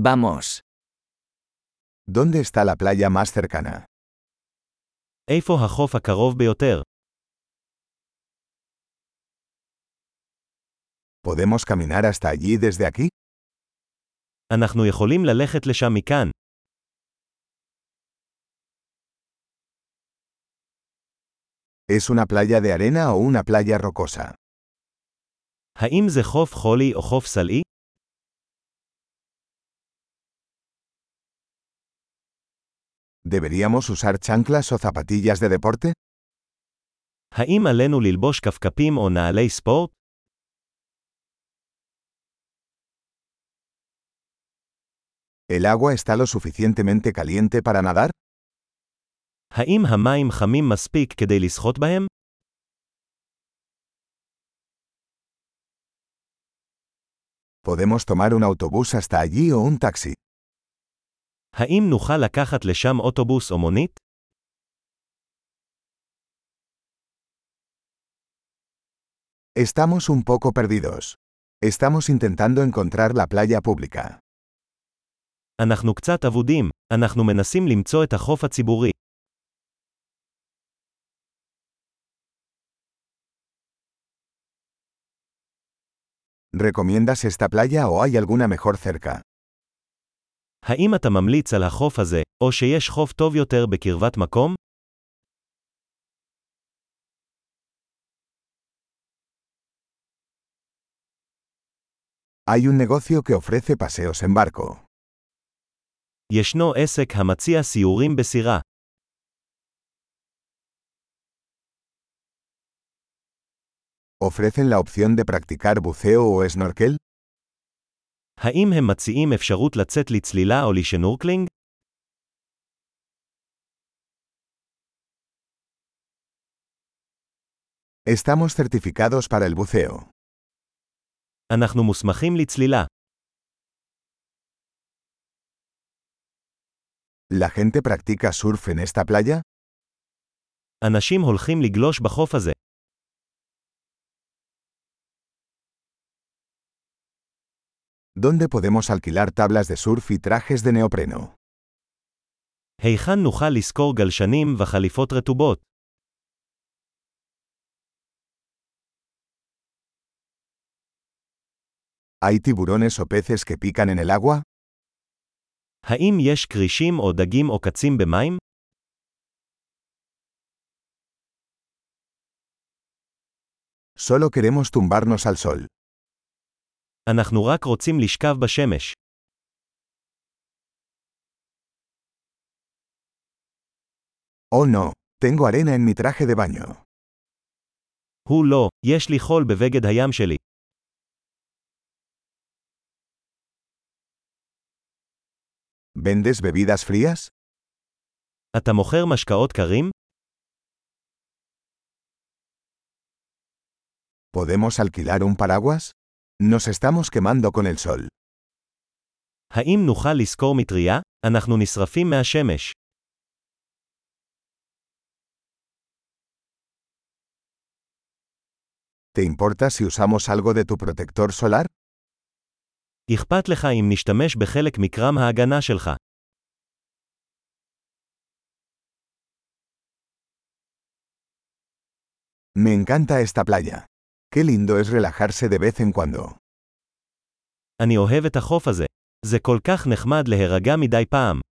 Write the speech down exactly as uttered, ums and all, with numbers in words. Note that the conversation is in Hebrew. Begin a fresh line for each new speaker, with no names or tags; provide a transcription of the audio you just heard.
Vamos.
¿Dónde está la playa más cercana?
איפה החוף הקרוב ביותר?
¿Podemos caminar hasta allí desde aquí?
אנחנו יכולים ללכת לשם מכאן.
¿Es una playa de arena o una playa rocosa?
האם זה חוף חולי או חוף סלעי?
¿Deberíamos usar chanclas o zapatillas de deporte?
האם עלינו ללבוש כפכפים או נעלי ספורט?
¿El agua está lo suficientemente caliente para nadar?
האם המים חמים מספיק כדי לשחות בהם?
¿Podemos tomar un autobús hasta allí o un taxi?
האם נוכל לקחת לשם אוטובוס או מונית?
Estamos un poco perdidos. Estamos intentando encontrar la playa pública.
אנחנו קצת אבודים. אנחנו מנסים למצוא את החוף הציבורי.
¿Recomiendas esta playa o hay alguna mejor cerca?
האם אתה ממליץ על החוף הזה, או שיש חוף טוב יותר בקרבת מקום?
Hay un negocio que ofrece paseos en barco.
ישנו עסק המציע סיורים בסירה.
¿Ofrecen la opción de practicar buceo o snorkel?
האם הם מציעים אפשרות לצאת לצלילה או לשנורקלינג?
Estamos certificados para el buceo.
אנחנו מוסמכים לצלילה.
¿La gente practica surf en esta playa?
אנשים הולכים לגלוש בחוף הזה.
¿Dónde podemos alquilar tablas de surf y trajes de neopreno?
היכן נוכל לשכור גלשנים וחליפות רטובות?
¿Hay tiburones o peces que pican en el agua?
האם יש קרישים או דגים או קצים במים?
Solo queremos tumbarnos al sol.
אנחנו רק רוצים לשכב בשמש.
Oh no, tengo arena en mi traje de baño.
הוא לא, יש לי חול בבגד הים שלי.
¿Vendes bebidas frías?
אתה מוכר משקאות קרים?
¿Podemos alquilar un paraguas? Nos estamos quemando con el sol.
האם נוכל לשכור מטריה? אנחנו נשרפים מהשמש.
¿Te importa si usamos algo de tu protector solar?
אכפת לך אם נשתמש בחלק מקרם ההגנה שלך.
Me encanta esta playa. Qué lindo es relajarse de vez en cuando.
אני אוהב את החוף הזה. זה כל כך נחמד להירגע מדי פעם.